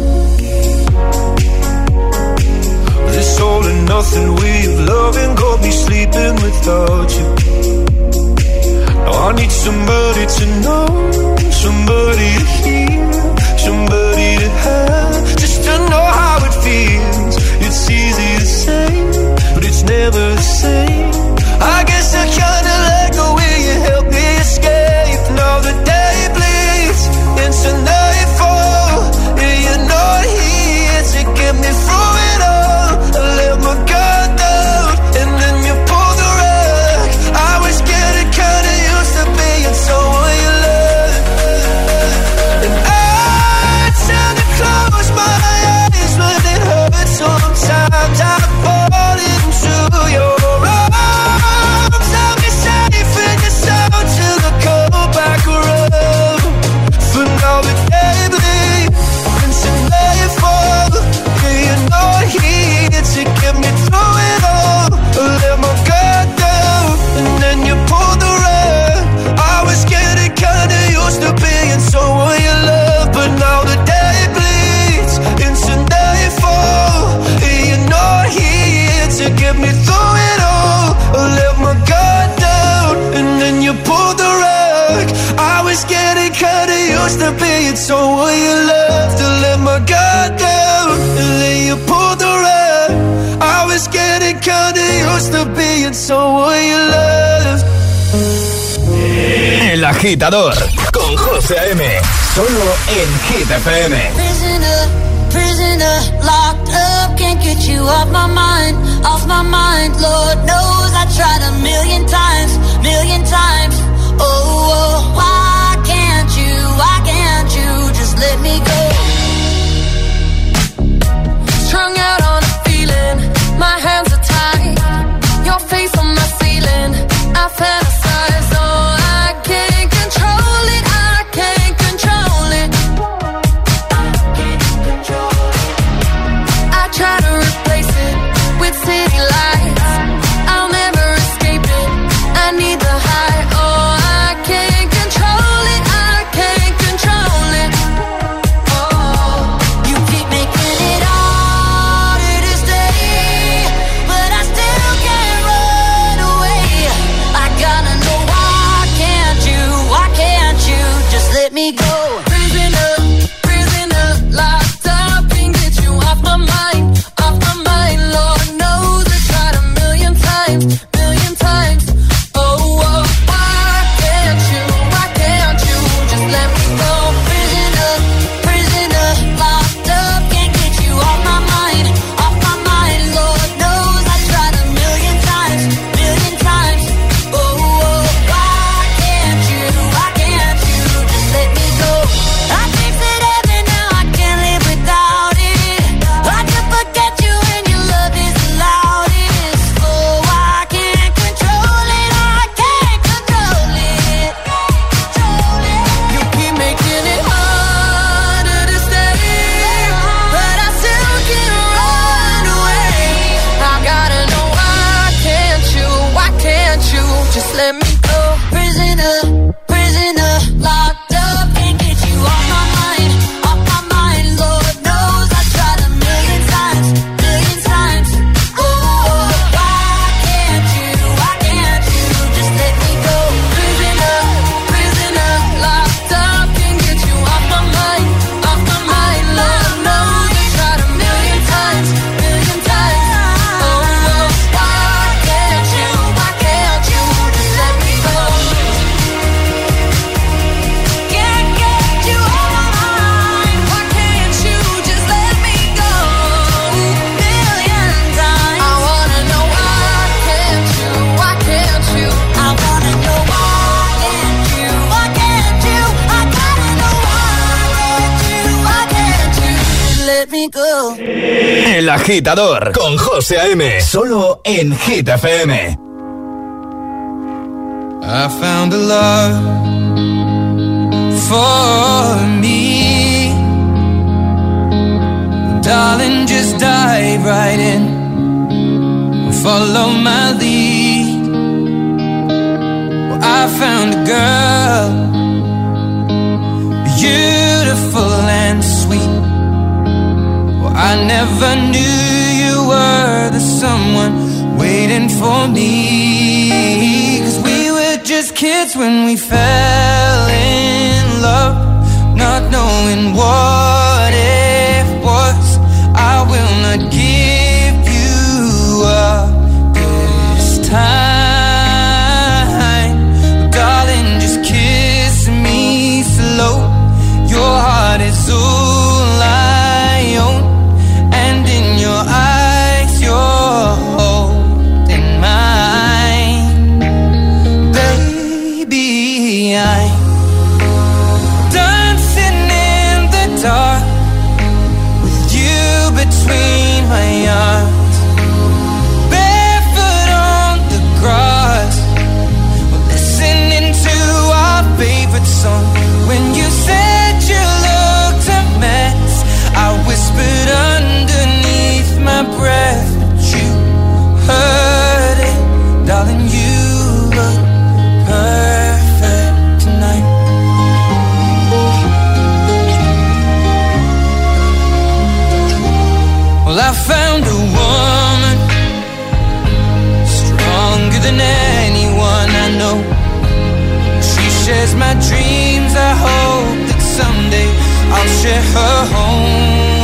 This all and nothing way of loving got me sleeping without you. Now I need somebody to know, somebody to hear, somebody to have, just to know how it feels. It's easy to say, but it's never the same. I guess I kinda like the way you help me escape. Now the day bleeds into nightfall, and you're not here to get me through it all. I let my guard down, and then you pulled the rug. I was getting kinda used to being someone you love. And I tend to close my eyes when it hurts. Sometimes I fall into your arms. I'll be safe in your soul till I come back around. For now the day bleeds into nightfall, and you're not here to get me through it all. I let my guard down, and then you pulled the rug. I was getting kinda used to being someone you love, but now the day bleeds into nightfall, and you're not here to get me through it all. I let my guard down, and then you pulled the rug. I was getting kinda used to being someone you love. To let my guard down, and then you pulled the rug. I was getting kinda used to being someone you love. El agitador con José A.M. Solo en Hit FM. Prisoner, locked up, can't get you off my mind, Lord knows I tried a million times, oh, why can't you just let me go? Strung out on a go. El Agitador con José A.M. Solo en Hit FM. I found a love for me. Darling, just dive right in. Follow my lead. Well, I found a girl, beautiful and sweet. Well, I never knew you were the someone waiting for me. 'Cause we were just kids when we fell in love, not knowing what it was. I will not give you up this time. Darling, just kiss me slow. Your heart is all I own, and in your eyes you're holding mine. Baby, I'm dancing in the dark with you between my arms, barefoot on the grass, listening to our favorite song. When you said you looked a mess, I whispered underneath my breath, but you heard it. Darling, you look perfect tonight. Well, I found a woman stronger than anyone I know. She shares my dreams. I hope that someday I'll share her home.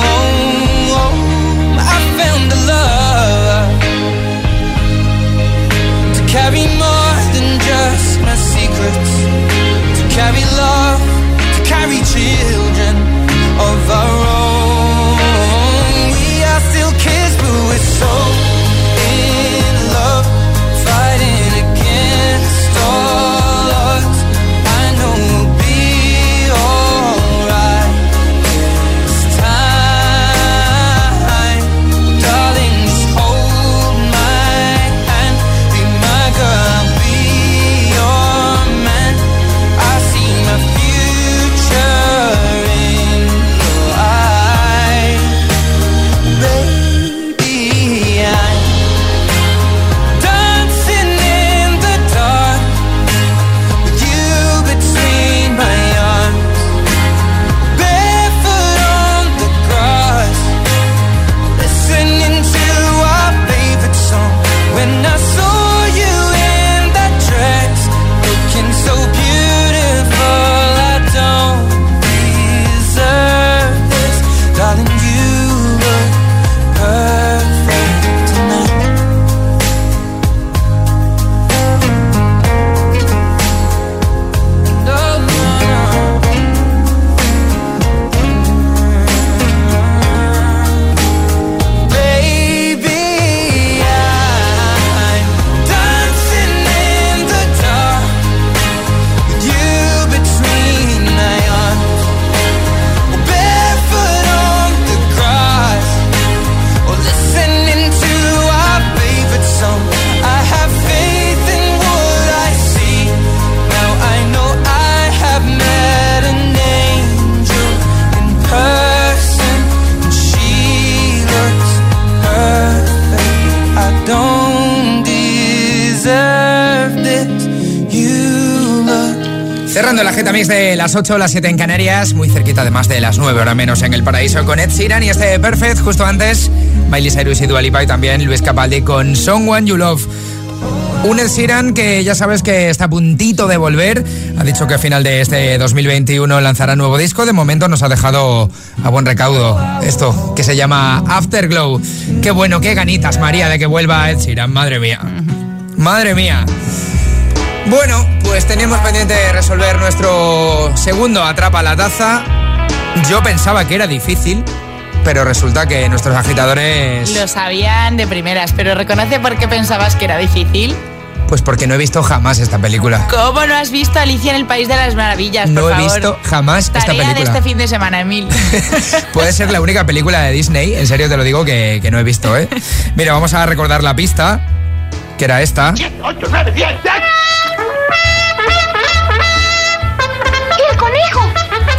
I found a love to carry more than just my secrets, to carry love, to carry children of our own. We are still kids, but we're so in love, fighting against all odds. I know we'll be alright this time. Darling, just hold my hand, be my girl, I'll be your man. I see my future in your eyes. Baby, I'm dancing in the dark with you between my arms, barefoot on the grass, listening to our favorite song. When I saw you in that dress, looking so beautiful, I don't deserve this. Darling, you look perfect tonight. No, no, no. Baby, I'm dancing in the dark with you between my arms, barefoot on the grass, or listening to our favorite song. I have faith in what I see. Now I know I have met an angel in person, and she looks perfect. I don't deserve this. You look. Cerrando la Geta Mix de las 8, las 7 en Canarias, muy cerquita además de las 9, hora menos en el paraíso, con Ed Sheeran y este Perfect. Justo antes, Miley Cyrus y Dua Lipa, y también Luis Capaldi con Someone You Love. Un Ed Sheeran que ya sabes que está a puntito de volver. Ha dicho que a final de este 2021 lanzará nuevo disco. De momento nos ha dejado a buen recaudo esto que se llama Afterglow. Qué bueno, qué ganitas, María, de que vuelva Ed Sheeran. Madre mía. Madre mía. Bueno, pues teníamos pendiente resolver nuestro segundo Atrapa la Taza. Yo pensaba que era difícil, pero resulta que nuestros agitadores... Lo sabían de primeras, pero reconoce por qué pensabas que era difícil. Pues porque no he visto jamás esta película. ¿Cómo no has visto Alicia en el País de las Maravillas? No he visto jamás esta película. Tarea de este fin de semana, Emil. Puede ser la única película de Disney, en serio te lo digo, que no he visto, ¿eh? Mira, vamos a recordar la pista, que era esta. 7, 8, 9, 10, ¡ya! ¡Y el conejo!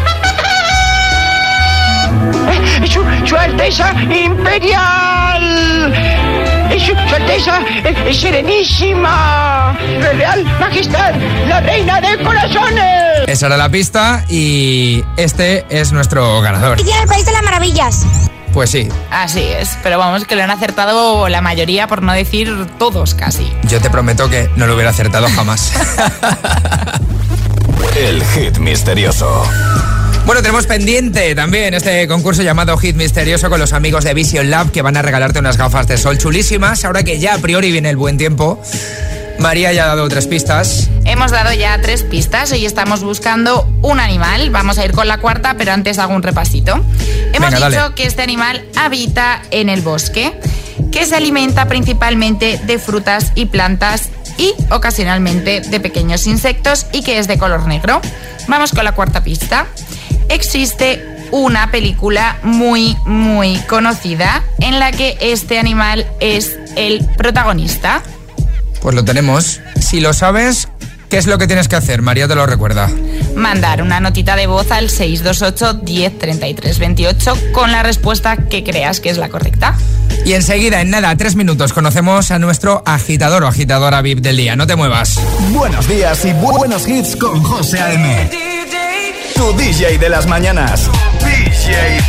Su Alteza Imperial. Su Alteza Serenísima. Real Majestad, la Reina de Corazones. Esa era la pista y este es nuestro ganador. Alicia en el País de las Maravillas. Pues sí. Así es, pero vamos, que lo han acertado la mayoría, por no decir todos casi. Yo te prometo que no lo hubiera acertado jamás. El hit misterioso. Bueno, tenemos pendiente también este concurso llamado Hit Misterioso con los amigos de Vision Lab, que van a regalarte unas gafas de sol chulísimas. Ahora que ya a priori viene el buen tiempo, María ya ha dado 3 pistas. Hemos dado ya 3 pistas. Hoy estamos buscando un animal. Vamos a ir con la 4ª, pero antes hago un repasito. Hemos dicho que este animal habita en el bosque, que se alimenta principalmente de frutas y plantas y ocasionalmente de pequeños insectos y que es de color negro. Vamos con la 4ª pista. Existe una película muy conocida en la que este animal es el protagonista. Pues lo tenemos. Si lo sabes, ¿qué es lo que tienes que hacer? María te lo recuerda. Mandar una notita de voz al 628 10 33 28 con la respuesta que creas que es la correcta. Y enseguida, en nada, 3 minutos, conocemos a nuestro agitador o agitadora VIP del día. No te muevas. Buenos días y buenos hits con José A.M. Tu DJ de las mañanas. DJ.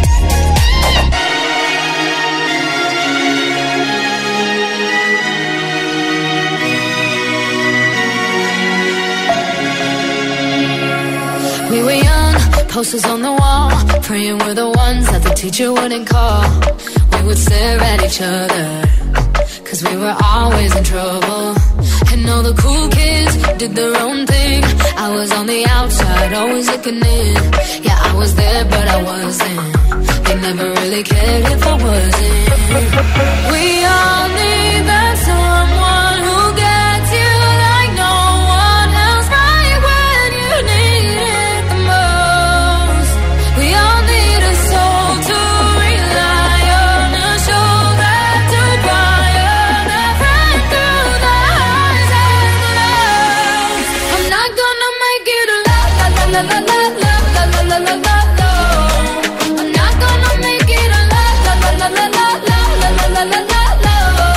We were young, posters on the wall, praying we're the ones that the teacher wouldn't call. We would stare at each other, cause we were always in trouble. And all the cool kids did their own thing. I was on the outside, always looking in. Yeah, I was there, but I wasn't. They never really cared if I wasn't. We all need that someone who gets you like no one else, right when you need it the most. We all need a soul to rely on, a shoulder to cry on, a friend through the highs and the lows. I'm not gonna make it a la la la la la la la la la la la. I'm not gonna make it a la la la la la la la la la la.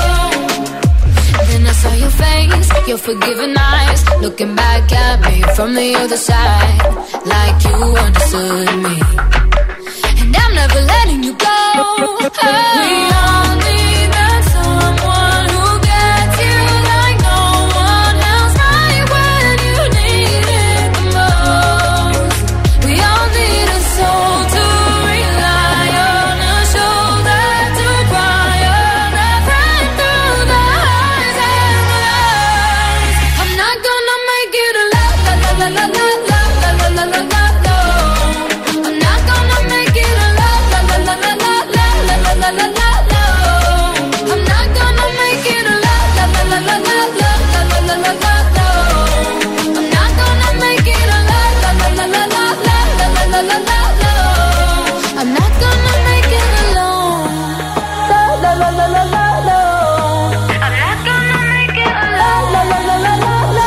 Then I saw your face, your forgiving eyes, looking back at me from the other side, like you understood me. And I'm never letting you go. We all need that someone who gets you like no one else, right when you need it the most. We all need a soul to rely on, a shoulder to cry on, a friend through the highs and the lows. I'm not gonna make it a la la la la la la la la la la la. I'm not gonna make it a la la la la la la la la la la la. I'm not gonna make it a la la la la la la la la la la la. I'm not gonna make it a la la la la la la la la la la. I'm not gonna make it alone. La la la la la la. I'm not gonna make it alone. La la la la la la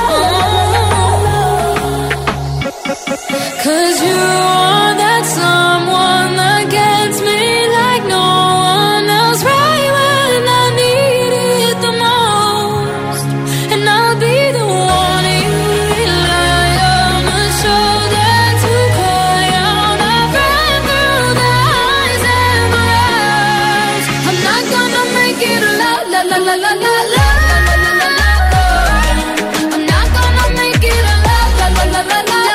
la. 'Cause you are that someone that gets me like no one else, right when I need it the most. And I'll be the one you rely on, a shoulder to cry on, a friend through the highs and the lows. I'm not gonna make it a la la la la la la la. I'm not gonna make it a la la la la la la.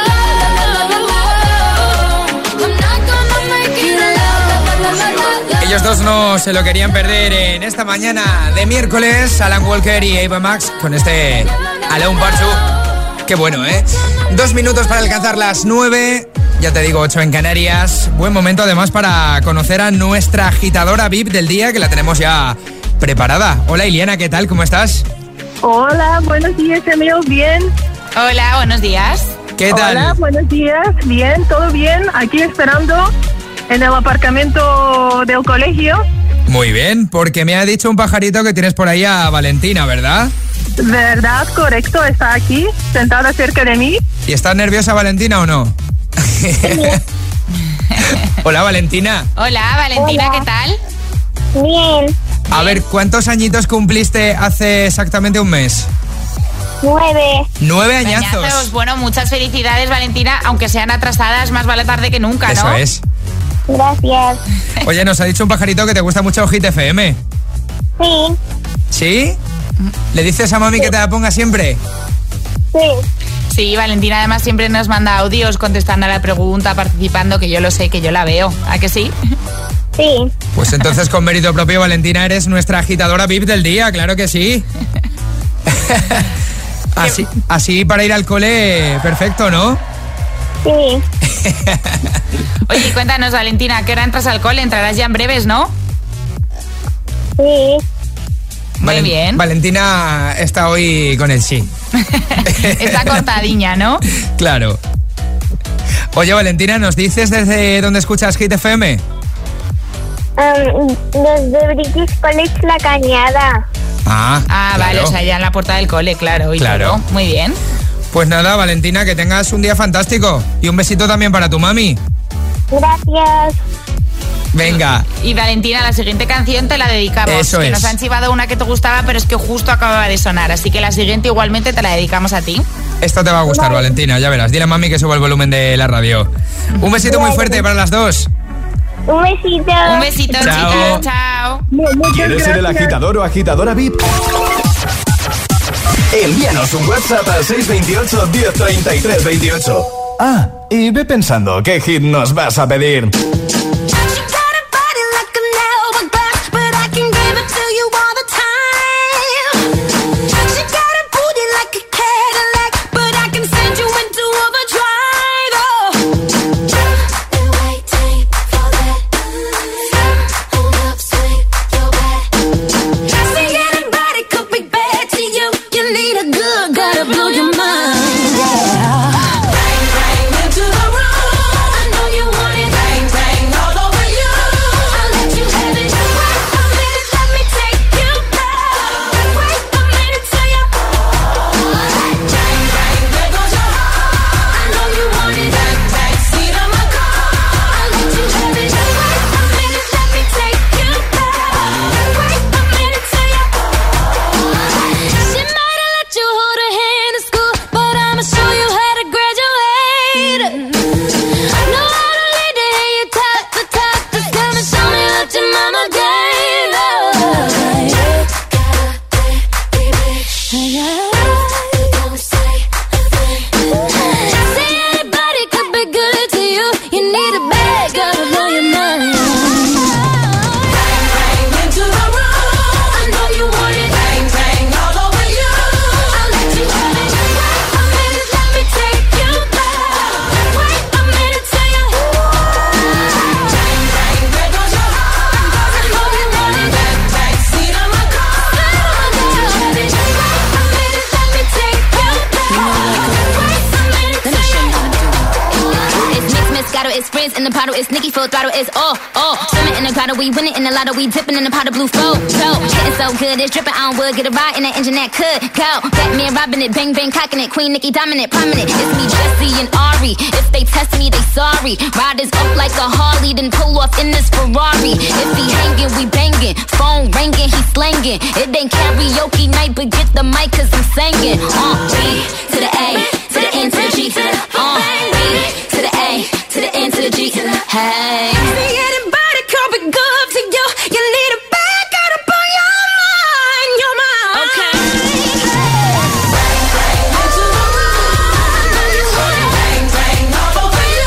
Ellos dos no se lo querían perder en esta mañana de miércoles. Alan Walker y Ava Max con este Alone Parchu. Qué bueno, ¿eh? 2 minutos para alcanzar las 9. Ya te digo, 8 en Canarias. Buen momento además para conocer a nuestra agitadora VIP del día, que la tenemos ya preparada. Hola Iliana, ¿qué tal? ¿Cómo estás? Hola, buenos días, Emil, ¿bien? Hola, buenos días. ¿Qué tal? Hola, buenos días, bien, todo bien. Aquí esperando en el aparcamiento del colegio. Muy bien, porque me ha dicho un pajarito que tienes por ahí a Valentina, ¿verdad? ¿Verdad? Correcto, está aquí, sentada cerca de mí. ¿Y estás nerviosa, Valentina, o no? Hola, Valentina. Hola, Valentina. Hola. ¿Qué tal? Bien. A ver, ¿cuántos añitos cumpliste hace exactamente un mes? 9. 9 añazos. Bueno, muchas felicidades, Valentina, aunque sean atrasadas, más vale tarde que nunca, ¿no? Eso es. Gracias. Oye, nos ha dicho un pajarito que te gusta mucho Hit FM. Sí. ¿Sí? ¿Le dices a mami que te la ponga siempre? Sí. Sí, Valentina además siempre nos manda audios contestando a la pregunta, participando, que yo lo sé, que yo la veo. ¿A que sí? Sí. Pues entonces con mérito propio, Valentina, eres nuestra agitadora VIP del día, claro que sí. Así para ir al cole, perfecto, ¿no? Sí. Oye, cuéntanos, Valentina, ¿a qué hora entras al cole? Entrarás ya en breves, ¿no? Sí. Muy bien. Valentina está hoy con el sí. Está cortadiña, ¿no? Claro. Oye, Valentina, ¿nos dices desde dónde escuchas Hit FM? Desde British College La Cañada. Ah, claro. Vale, o sea, ya en la puerta del cole, claro. Claro. Todo. Muy bien. Pues nada, Valentina, que tengas un día fantástico. Y un besito también para tu mami. Gracias. Venga. Y Valentina, la siguiente canción te la dedicamos. Eso que es. Nos han chivado una que te gustaba, pero es que justo acababa de sonar. Así que la siguiente igualmente te la dedicamos a ti. Esta te va a gustar, Valentina, ya verás. Dile a mami que suba el volumen de la radio. Un besito muy fuerte para las dos. Un besito. Un besito, chao. Chicas. Chao. ¿Quieres ser el agitador o agitadora VIP? Envíanos un WhatsApp al 628 1033 28. Ah, y ve pensando qué hit nos vas a pedir. We winning in the lotto, we dipping in the pot of blue flow. Getting so good, it's dripping. I don't would get a ride in that engine that could go. Batman robbing it, bang bang cocking it. Queen Nicki dominant, prominent. It's me, Jesse and Ari. If they test me, they sorry. Riders up like a Harley, then pull off in this Ferrari. If he hanging, we banging. Phone ringing, he slanging. It ain't karaoke night, but get the mic 'cause I'm singing. B to the A, to the N to the G, to the B to the A, to the N to the G. Hey. Good to you, you need a back out up on your mind, Okay. Bang, bang, all over you.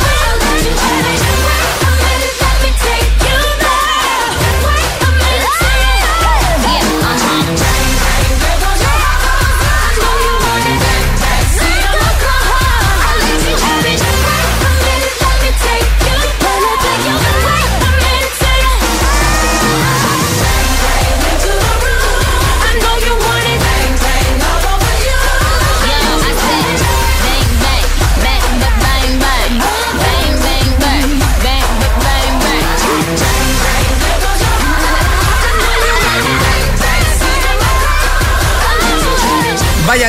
Let me take you there. Wait a minute, yeah, There goes your heart. I know you want it. See the look on her. I'll let you have it. Wait a minute, let me take you there. Wait a minute,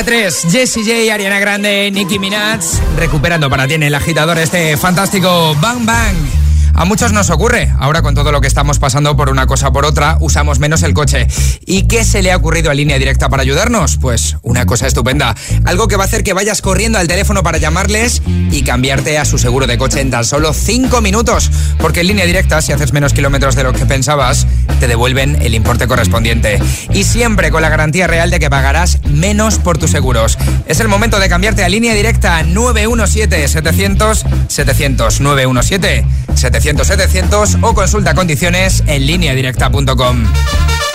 Día 3, Jessie J, Ariana Grande, Nicki Minaj, recuperando para ti en El Agitador este fantástico Bang Bang. A muchos nos ocurre, ahora con todo lo que estamos pasando por una cosa o por otra, usamos menos el coche. ¿Y qué se le ha ocurrido a Línea Directa para ayudarnos? Pues una cosa estupenda, algo que va a hacer que vayas corriendo al teléfono para llamarles y cambiarte a su seguro de coche en tan solo 5 minutos. Porque en Línea Directa, si haces menos kilómetros de lo que pensabas, te devuelven el importe correspondiente. Y siempre con la garantía real de que pagarás menos por tus seguros. Es el momento de cambiarte a Línea Directa 917-700-700, 917-700-700 o consulta condiciones en lineadirecta.com.